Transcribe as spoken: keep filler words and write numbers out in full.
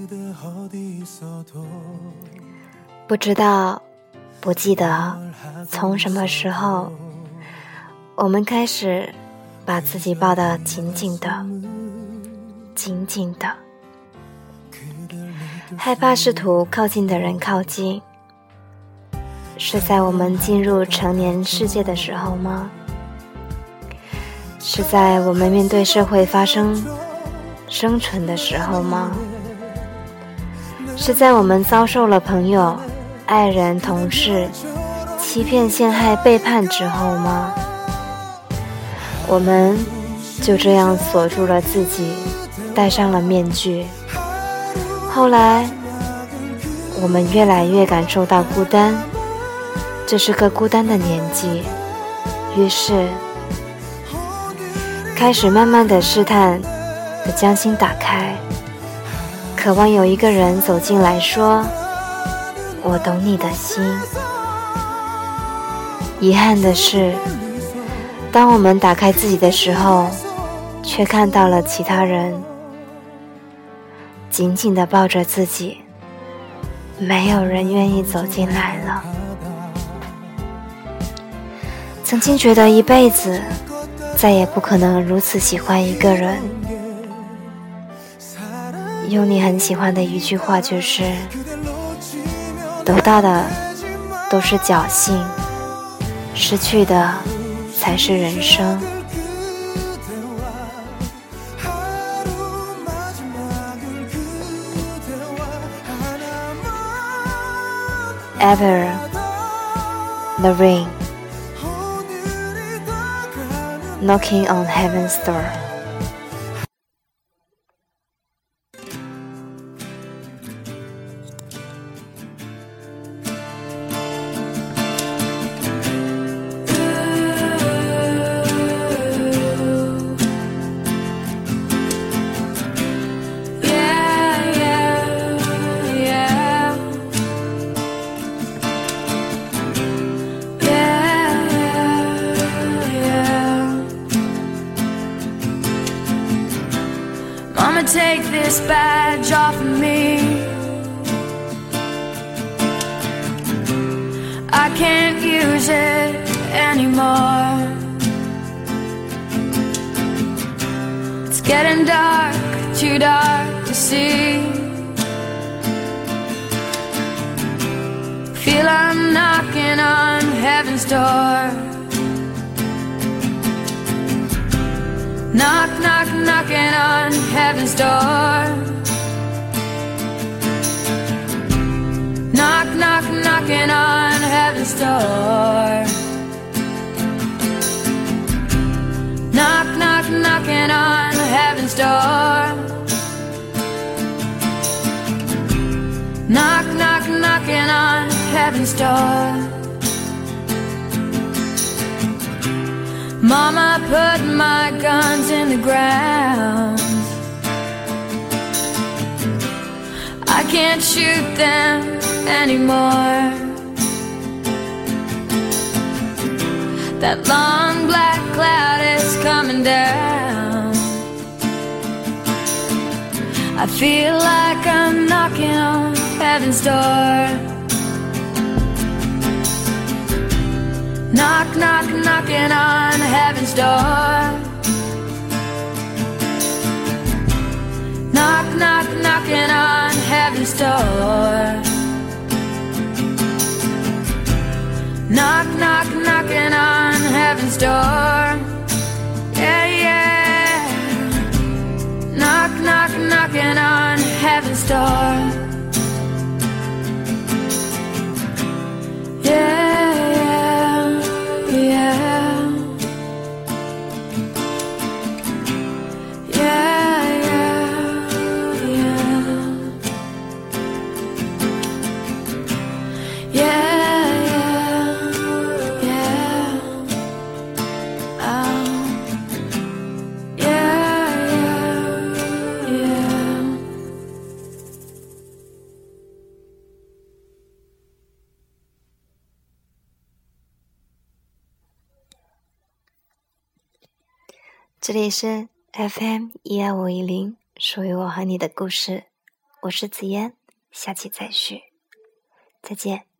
不知道，不记得从什么时候我们开始把自己抱得紧紧的紧紧的，害怕试图靠近的人靠近。是在我们进入成年世界的时候吗？是在我们面对社会发生生存的时候吗？是在我们遭受了朋友、爱人、同事欺骗、陷害、背叛之后吗？我们就这样锁住了自己，戴上了面具。后来我们越来越感受到孤单，这是个孤单的年纪，于是开始慢慢的试探的将心打开，渴望有一个人走进来说，我懂你的心。遗憾的是，当我们打开自己的时候，却看到了其他人紧紧地抱着自己，没有人愿意走进来了。曾经觉得一辈子再也不可能如此喜欢一个人，用你很喜欢的一句话就是，得到的都是侥幸，失去的才是人生。Ever the rain knocking on heaven's door. Take this badge off of me. I can't use it anymore. It's getting dark, too dark to see. Feel I'm knocking on heaven's door. Knock, knock, knocking on heaven's door. Knock, knock, knocking on heaven's door. Knock, knock, knocking on heaven's door. Knock, knock, knocking on heaven's door. Mama put my guns in the ground. I can't shoot them anymore. That long black cloud is coming down. I feel like I'm knocking on heaven's door. Knock, knock, knocking on heaven's door. Knock, knock, knocking on heaven's door. Knock, knock, knocking on heaven's door. Yeah, yeah. Knock, knock, knocking on heaven's door. Yeah, yeah, yeah. 这里是 F M 一二五一零，属于我和你的故事， 我是紫嫣，下期再续，再见。